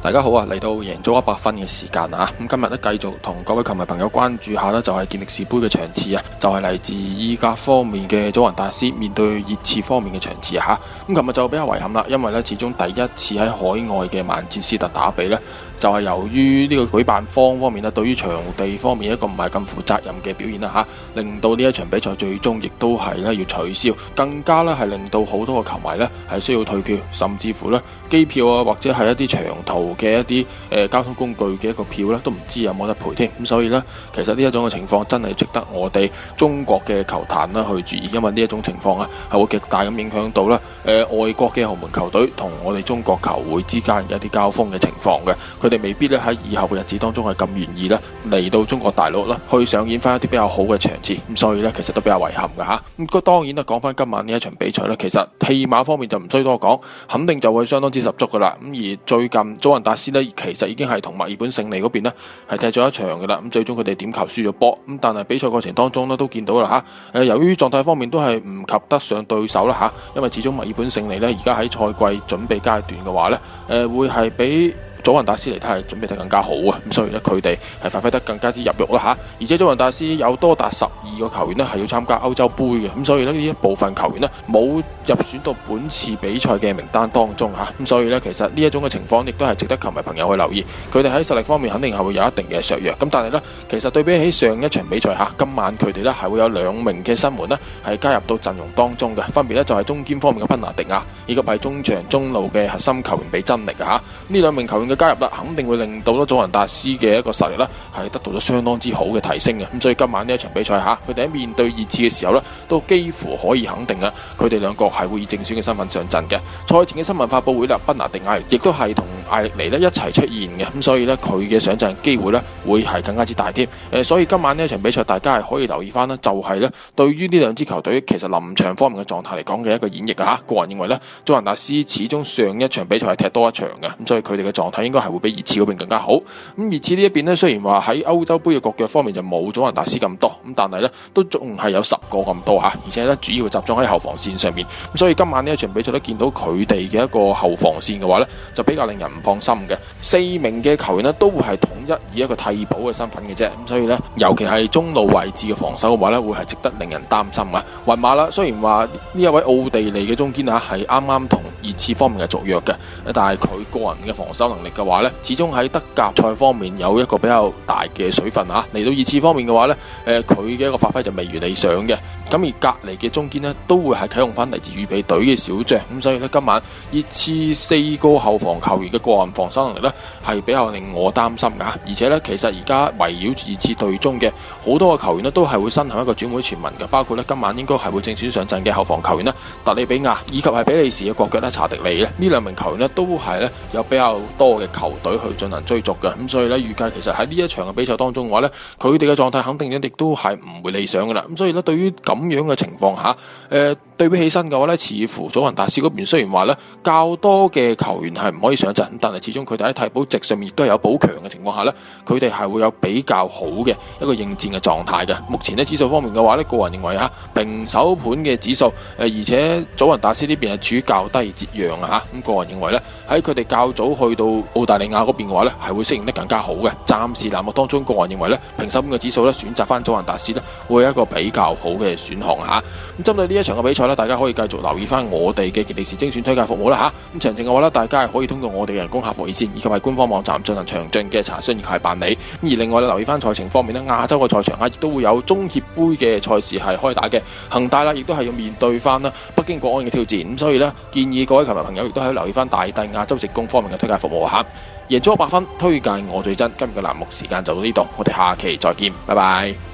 大家好啊！嚟到贏足 100FUN 嘅時間啊！咁今日咧繼續同各位球迷朋友關注下呢就係健力士杯嘅場次啊，就係嚟自意甲方面嘅祖雲達斯面對熱刺方面嘅場次啊！咁琴日就比較遺憾啦，因為呢始終第一次喺海外嘅曼徹斯特打比呢，就係由於呢個舉辦方面呢對於場地方面一個唔係咁負責任嘅表現啦吓，令到呢一場比賽最終亦都係呢要取消，更加呢係令到好多個球迷呢係需要退票，甚至乎呢機票啊或者係一啲長途嘅一啲交通工具嘅一個票呢都唔知有冇得賠添。咁所以呢，其實呢一種嘅情況真係值得我哋中國嘅球壇啦去注意，因為呢一種情況啊係會極大咁影響到外國嘅豪門球隊同我哋中國球會之間嘅一啲交鋒嘅情況嘅，佢哋未必咧喺以後嘅日子當中係咁願意咧嚟到中國大陸啦去上演翻一啲比較好嘅場次，咁所以呢，其實都比較遺憾嘅吓。咁當然啦，講翻今晚呢一場比賽呢，其實戲碼方面就唔需多講，肯定就會相當之十足噶啦。咁而最近祖雲達斯呢，其實已經係同墨爾本勝利嗰邊呢係踢咗一場嘅啦。咁最終佢哋點球輸咗波，咁但係比賽過程當中呢都見到啦吓。由於狀態方面都係唔及得上對手啦吓，因為始終墨爾本勝利呢而家喺賽季準備階段嘅話呢，會係比祖雲達斯嚟睇係準備得更加好啊，咁所以呢，佢哋係發揮得更加之入肉啦吓，而且祖雲達斯有多達12個球員呢係要參加歐洲杯嘅，咁所以呢，呢一部分球員呢冇入選到本次比賽嘅名單當中吓，咁所以呢，其實呢一種嘅情況亦都係值得球迷朋友去留意，佢哋喺實力方面肯定係會有一定嘅削弱，咁但係呢，其實對比起上一場比賽吓，今晚佢哋呢係會有2名嘅新援呢係加入到陣容當中嘅，分別呢就係中堅方面嘅賓拿迪亞，以及係中場中路嘅核心球員比真力嘅吓，呢2名球員嘅加入啦，肯定會令到祖雲達斯嘅一個實力咧係得到咗相當之好嘅提升嘅。咁所以今晚呢一場比賽吓，佢哋喺面對熱刺嘅時候咧，都幾乎可以肯定啦，佢哋兩個係會以正選嘅身份上陣嘅。賽前嘅新聞發佈會啦，賓拿迪亞亦都係同艾力尼咧一齊出現嘅，咁所以咧佢嘅上陣機會咧會係更加之大添。所以今晚呢一場比賽，大家係可以留意翻啦，就係咧對於呢兩支球隊其實臨場方面嘅狀態嚟講嘅一個演繹啊吓。個人認為咧，祖雲達斯始終上一場比賽係踢多一場嘅，咁所以佢哋嘅狀態應該係會比熱刺嗰邊更加好。咁熱刺呢一邊呢，雖然話喺歐洲杯嘅國腳方面就冇祖雲達斯咁多，咁但係呢都仲係有10個咁多吓，而且呢主要集中喺後防線上面。咁所以今晚呢一場比賽都見到佢哋嘅一個後防線嘅話呢，就比較令人唔放心嘅。4名嘅球員呢都會係統一以一個替補嘅身份嘅啫，咁所以呢，尤其係中路位置嘅防守嘅話呢，會係值得令人擔心啊。雲馬啦，雖然話呢一位奧地利嘅中堅啊係啱啱同熱刺方面係續約嘅，但係佢個人嘅防守能力嘅話呢，始終喺德甲賽方面有一個比較大嘅水分吓。嚟到熱刺方面嘅話呢，佢嘅一個發揮就未如理想嘅。咁而隔籬嘅中堅呢，都會係啟用翻嚟自預備隊嘅小將，咁所以呢，今晚熱刺4個後防球員嘅個人防守能力呢，係比較令我擔心噶。而且呢，其實而家圍繞住熱刺隊中嘅好多個球員呢，都係會身陷一個轉會傳聞嘅，包括呢今晚應該係會正選上陣嘅後防球員呢，特里比亞以及係比利時嘅國腳呢查迪尼呢，呢2名球員呢，都係呢有比較多嘅球隊去進行追逐嘅，咁所以呢，預計其實喺呢一場嘅比賽當中嘅話呢，佢哋嘅狀態肯定亦都係唔會理想噶啦。咁所以呢，對於咁樣嘅情況下，對比起身嘅話呢，似乎祖雲達斯嗰邊雖然話呢較多嘅球員係唔可以上陣，但係始終佢哋喺替補席上面亦都有補強嘅情況下呢，佢哋係會有比較好嘅一個應戰嘅狀態嘅。目前呢，指數方面嘅話呢，個人認為平手盤嘅指數，而且祖雲達斯呢邊係處於較低折讓啊吓，咁個人認為呢，喺佢哋較早去到澳大利亞嗰邊嘅話呢，係會適應得更加好嘅。暫時欄目當中，個人認為呢，平手盤嘅指數呢，選擇翻祖雲達斯呢，會係一個比較好嘅選項吓。咁針對呢一場嘅比賽呢，大家可以繼續留意翻我哋嘅健力士精選推介服務啦吓。咁詳情嘅話呢，大家係可以通過我哋嘅人工客服熱線以及係官方網站進行詳盡嘅查詢以及係辦理。而另外留意翻賽程方面呢，亞洲嘅賽場亦都會有中協杯嘅賽事係開打嘅，恒大啦亦都係要面對翻北京國安嘅挑戰。咁所以呢，建議各位球迷朋友亦都係留意翻大帝亞洲直供方面嘅推介服務吓。贏足 100FUN，推介我最真。今日嘅欄目時間就到呢度，我哋下期再見，拜拜。